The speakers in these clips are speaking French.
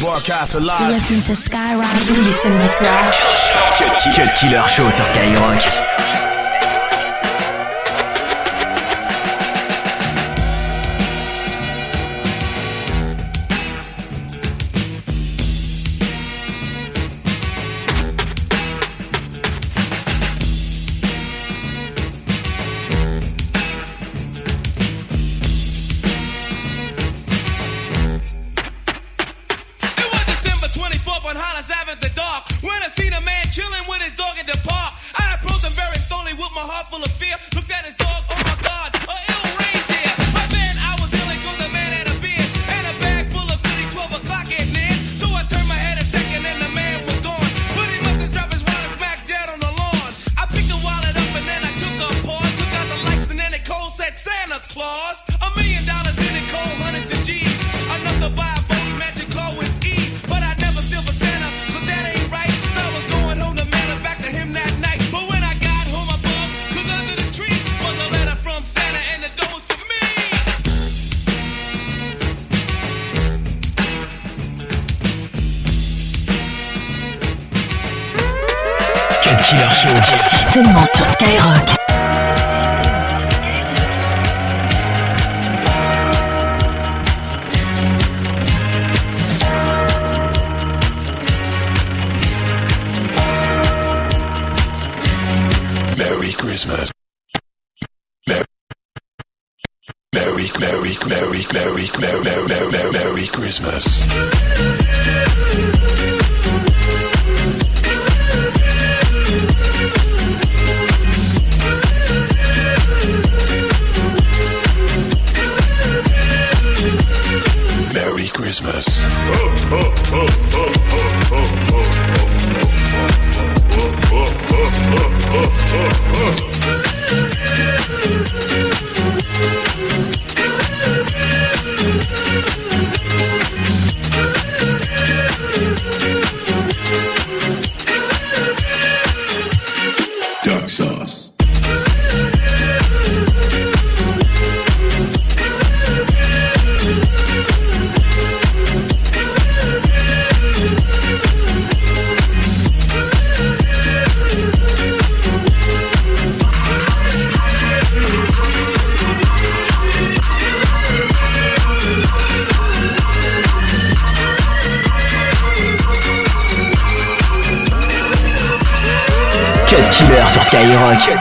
Broadcast alive. You're listening to Skyrock. Tous les samedis soirs. Cut Killer Show sur Skyrock. C'est seulement sur Skyrock. Merry Christmas. Merry Christmas. Merry Christmas. Duck sauce. Cut Killer sur Skyrock.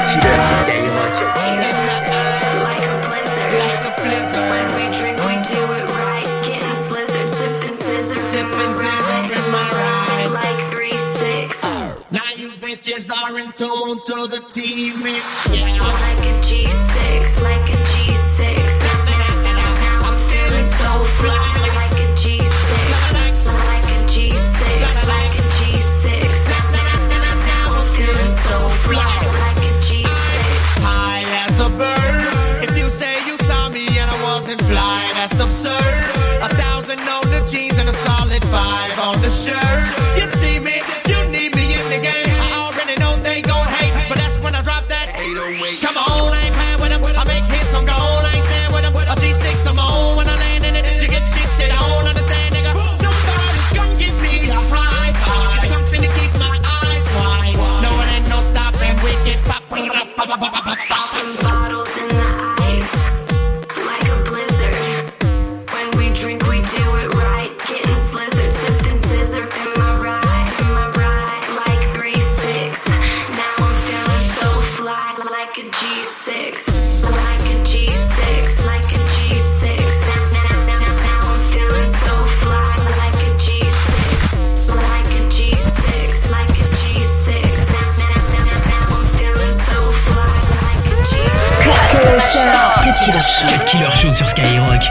To the T-Mix, yeah. Like a G6, like a G6. I'm feeling so fly. Like a G6, like a G6, like a G6. I'm feeling so fly. Like a G6. High as a bird. If you say you saw me and I wasn't fly, that's absurd. 1,000 on the jeans and a solid 5 on the shirt. You see me, you need me in the game. I already know they gon' hate, but that's when I drop that 808. Come on, I ain't playing with them. I make hits, I'm gone, I ain't stand with them. A G6, I'm on when I land in it. You get shit that I don't understand, nigga. Somebody's gonna give me a high five. Something to keep my eyes wide. No, it ain't no stopping. We get pop, bottles in the ice, like a blizzard. When we drink, we do it right. Getting slizzard, sipping scissor. Am I right, like 3-6. Now I'm feeling so fly, like a G6. Like a G6, like a G6. Now I'm feeling so fly, like a G6. Like a G6, like a G6. Now I'm feeling so fly, like a G6. Cut Killer Show. Cut Killer Show sur Skyrock.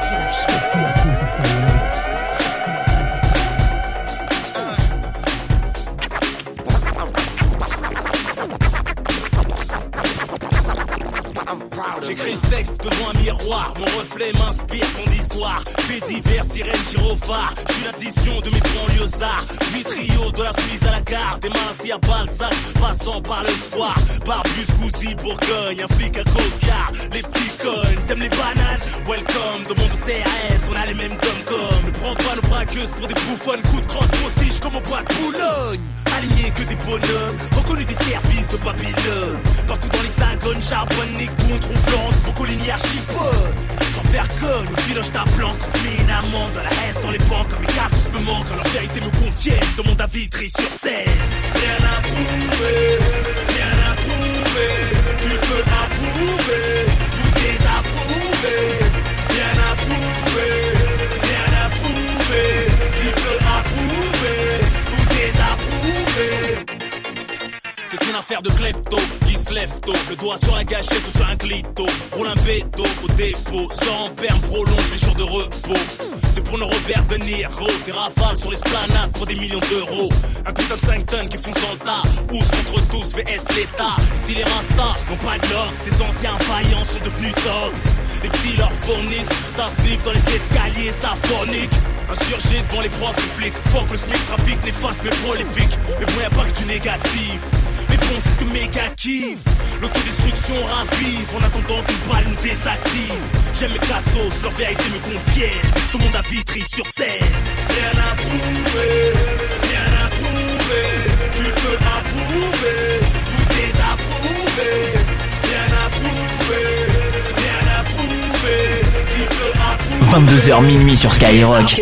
J'écris ce texte devant un miroir, mon reflet m'inspire ton histoire. Faits divers, sirène, gyro phare. J'suis l'addition de mes banlieusards. Puis trio de la Suisse à la gare. Des Marcy à Balzac, passant par le square. Barbus, Gouzy, Bourgogne, un flic à Coca. Les petits connes, t'aimes les bananes? Welcome, dans mon CRS, on a les mêmes dom-com. Ne prends pas nos braqueuses pour des bouffonnes. Coup de crosse, postiche comme au bois de Boulogne. Alignés que des bonhommes, reconnus des services de Babylone. Partout dans l'hexagone, charbonne, Nick-Boon, Florence, Brocoligny, Archipode. Sans faire conne, au filoche ta planque. Mets une amende dans la reste, dans les banques. Comme les cassos me manquent, leur vérité me contiennent. Dans mon David Vitry sur scène. Rien à prouver, rien à prouver. Tu peux approuver, tout désapprouver. Rien à prouver, rien à prouver. Tu peux approuver, tout désapprouver. C'est une affaire de klepto qui se lève tôt. Le doigt sur la gâchette ou sur un clito. Roule un béto au dépôt. Sors en perme, prolonge les jours de repos. C'est pour nos Robert De Niro. Des rafales sur l'esplanade pour des millions d'euros. Un putain de 5 tonnes qui fonce dans le tas. Ous contre tous, VS l'État. Ici les Rastas n'ont pas de l'ox. Des anciens faillants sont devenus tox. Les petits leur fournissent. Ça sniffe dans les escaliers, ça fornique. Insurgé devant les profs, les flics. Faut que le SMIC trafic néfaste mais prolifique. Mais bon, y'a pas que du négatif. Mais bon, c'est ce que mes gars kiffent. L'autodestruction ravive en attendant qu'une balle nous désactive. J'aime mes cassos, leur vérité me contiennent. Tout le monde a Vitry sur scène. Rien à prouver, rien à prouver. Tu peux approuver, tout désapprouver. Rien à prouver, rien à prouver. Tu peux approuver. 22h minuit sur Skyrock.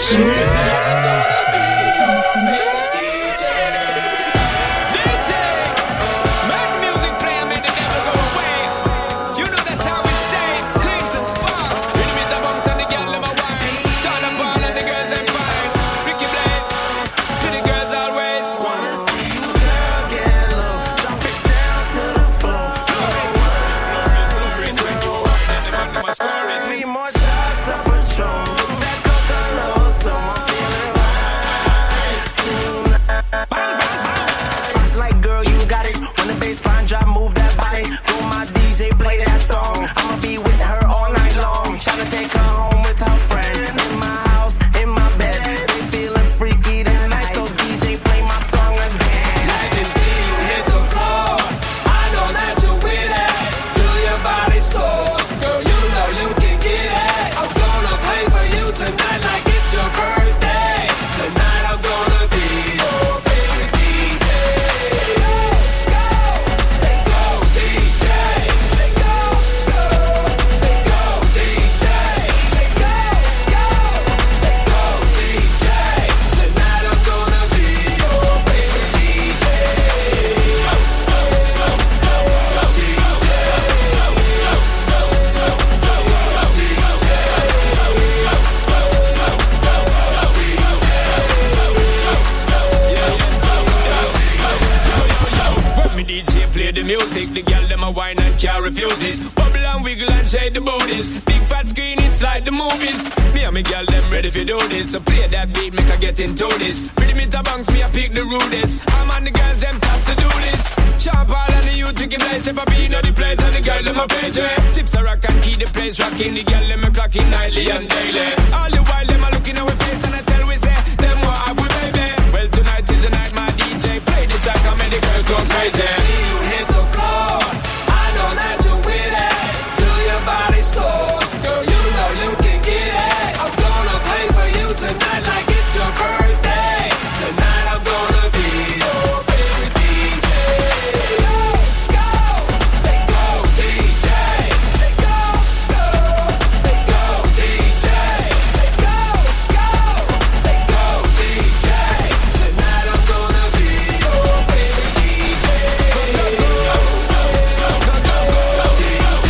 So play that beat, make her get into this. Rhythm it a bounce, me a pick the rudest. I'm on the girls, them have to do this. Sharp all and the youth to give place. If I be know the place and the girl, them a page. Sips a rock and keep the place rocking. The girl, them a clocking nightly and daily. All the while, them a looking our face and I tell we say, them what have we baby. Well, tonight is the night, my DJ. Play the track and make the girls go crazy. See you hit the floor. I know that you're with it. To your body soul. Girl, you know you can get it. I'm gonna play for you tonight like it's your birthday. Tonight I'm gonna be your favorite DJ. Say go, go, say go DJ. Say go, go, say go DJ. Say go, go, say go DJ. Tonight I'm gonna be your favorite DJ. Go, go, go, go, go, go, go, DJ.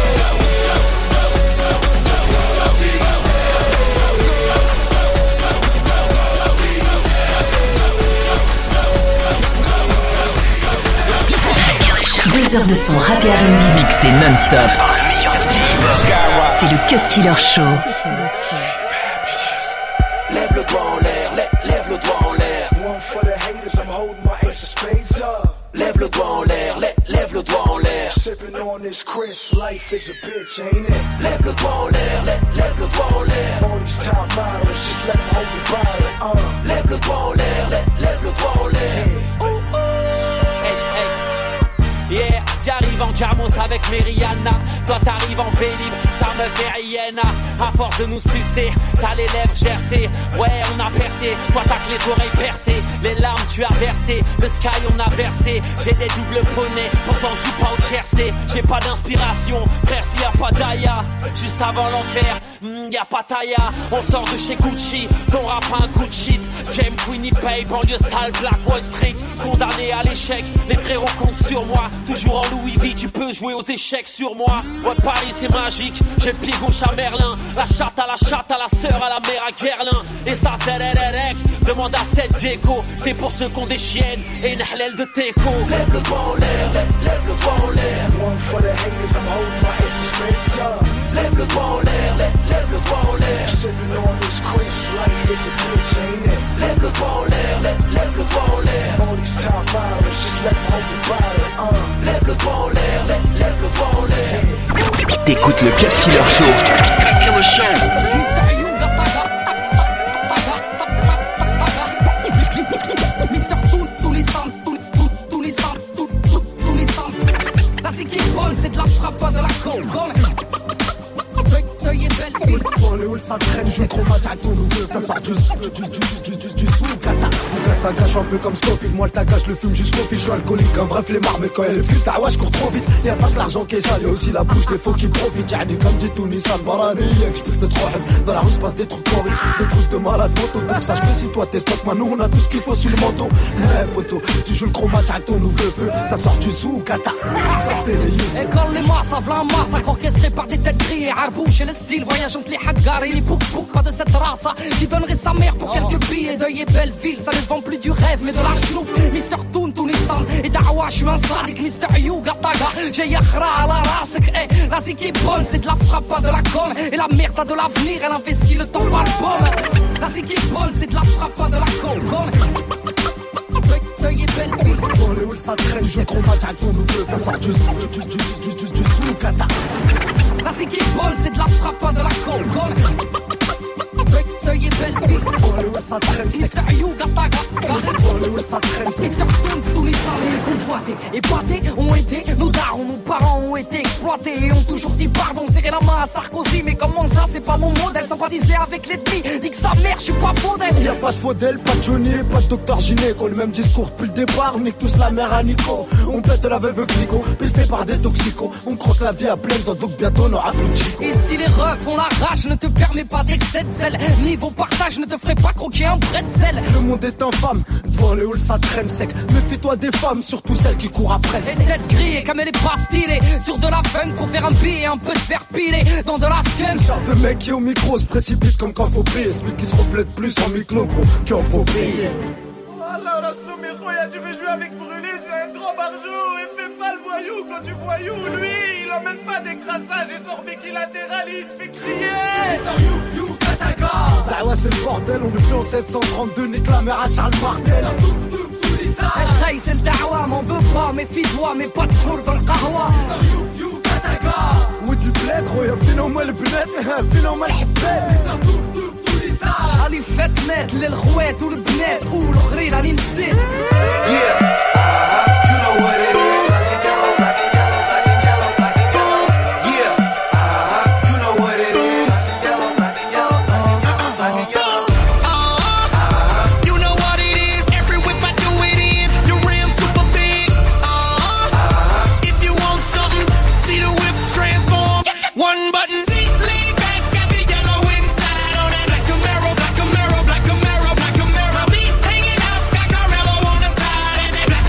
Deux heures de son rap et R&B Mixé non-stop par le meilleur DJ hip-hop. C'est le Cut Killer Show. Lève le doigt en l'air, lève le doigt en l'air. One for the haters, I'm holding my ace of spades up. Lève le doigt en l'air, lève le doigt en l'air. Sipping on this Chris, life is a bitch, ain't it? Lève le doigt en l'air, lève le doigt en l'air. All these top models, just let them hold the bottle, Lève le doigt en l'air, lève le doigt en l'air. Yeah, j'arrive en Jamos avec Meriana. Toi t'arrives en Vélib, ta meuf est Rihanna. À force de nous sucer, t'as les lèvres gercées. Ouais, on a percé, toi t'as que les oreilles percées. Les larmes tu as versé, le sky on a versé. J'ai des doubles poneys, pourtant je joue pas au Jersey. J'ai pas d'inspiration, frère s'il y a pas d'Aya. Juste avant l'enfer, y'a pas Taya. On sort de chez Gucci, ton rap un coup de shit. James Winnipeg, banlieue sale, Black Wall Street. Condamné à l'échec, les frérots comptent sur moi. Toujours en Louis V, tu peux jouer aux échecs sur moi. Ouais, Paris c'est magique, j'ai le pied gauche à Merlin. La chatte à la sœur, à la mère à Guerlain. Et ça ZLLX, demande à Seth Gecko. C'est pour ceux qui ont des chiennes et une halal de teco. Lève le doigt en l'air, lève le doigt en l'air. One for the haters, I'm holding my ace of spades up. Lève le doigt en l'air, lève le doigt en l'air. Sipping on this Chris, life is a bitch, ain't it? Lève le doigt en l'air, lève le doigt en l'air. All these top models, just let them hold the bottle, Lève le doigt en l'air, lève le doigt en l'air. T'écoutes le Cut Killer Show. Cut Killer Show. Mister tous les sons, tous les sons. La c'est qui est bonne, c'est de la frappe, pas de la colle. Pour les halls ça traîne, je le chromate à ton nouveau. Ça sort du soukata. Mon gâche un peu comme Scofield, moi le tagage le fume jusqu'au fil. Je suis alcoolique, un vrai flemmard, mais quand elle est file, ta ouais, je cours trop vite. Y'a pas que l'argent qui est sale, y'a aussi la bouche des faux qui profitent. Y'a comme dit Tony Salvarani, y'a que j'peux te trop hum. Dans la rue se passe des trucs horribles, des trucs de malade moto. Donc sache que si toi t'es stock, nous on a tout ce qu'il faut sur le manteau. Poto, si tu joues le chromate à ton nouveau feu, ça sort du soukata. Sortez les yeux. École les masses, avant masse, orchestré par des têtes grillées. Arbouche et le style, voyage entre les haggars et les pouk-pouk. Pas de cette race qui donnerait sa mère pour quelques billets. Deuil et Belleville, ça ne vend plus du rêve mais de la chenouf. Mister Toon, Nissan et Dawa, je suis un sadique. Mister Yuga Taga, j'ai Yakhra à la race. La zik est bonne, c'est de la frappe, pas de la conne. Et la merde a de l'avenir, elle investit le temps par le pomme. La zik est bonne, c'est de la frappe, pas de la conne. Deuil et Belleville. Pour les halls ça traîne, je chromate à ton nouveau. Ça sort du soukata. La zik est bonne, c'est de la frappe, pas de la conne. Deuil et Belleville. Pour les halls ça traîne, c'est Mister Yuga Taga. Pour les halls ça traîne, c'est Mister Toon, tous les salés convoités, épatés ont été, nos darons, nos parents ont été exploités et ont toujours dit pardon, serrer la main à Sarkozy. Mais comment ça, c'est pas mon modèle, sympathiser avec l'ennemi, nique sa mère, je suis pas faux d'elle. Y'a pas de Faudel, pas de Johnny, pas de Docteur Gynéco. Le même discours depuis le départ, on nique tous la mère à Nico. On pète la veuve Clico, pisté par des toxicos. On croque la vie à pleine dents, donc bientôt on aura plus de chico. Et si les refs ont la rage, ne te permets pas d'excès de zèle. Niveau partage, ne te ferai pas croquer un bretzel. Le monde est infâme, devant les halls ça traîne sec. Méfie-toi des femmes, surtout celles qui courent après le Les sexe. têtes grillées comme elle est pas stylée, sur de la funk pour faire un billet, un peu de fer pilé dans de la skunk. Genre de mec qui au micro se précipite comme quand faut prier. Celui qui se reflète plus en micro gros qu'en faut prier. Alors là, Somero, tu veux jouer avec Brûlé, c'est un gros barjou. Et fais pas le voyou quand tu voyou. Lui, il emmène pas des crassages et sort biquilatéral, il te fait crier. You, Kataga. Bah ouais, c'est le bordel, on est plus en 732, nique la mère à Charles Martel. Hey, c'est le dawa, m'en veux pas, méfie-toi, mais pas de four dans le kahwa. You, Kataga. ود البلاد خويا فينا هما البنات فينا هما الحبات. علي فات مات للخوات والبنات والاخرين راني نسيت. You know what it is. Black Camaro, black Camaro, black Camaro. Be hanging out, got Carmelo on the side, and that black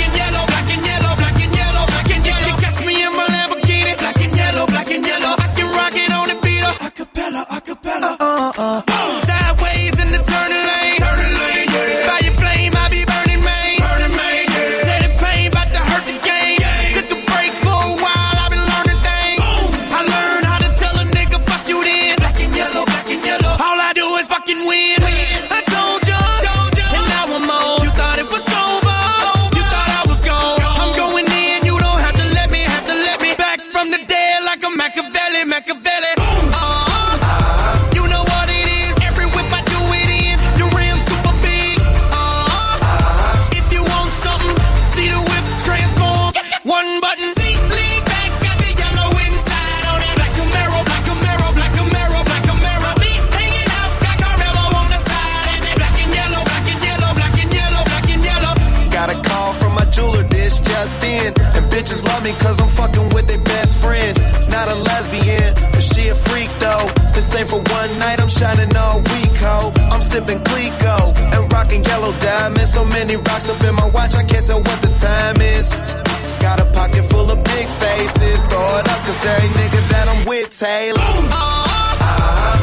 me cause I'm fucking with their best friends. Not a lesbian, but she a freak though. This ain't for one night, I'm shining all week, ho. I'm sipping Clico and rocking yellow diamonds. So many rocks up in my watch, I can't tell what the time is. Got a pocket full of big faces, throw it up cause every nigga that I'm with Taylor.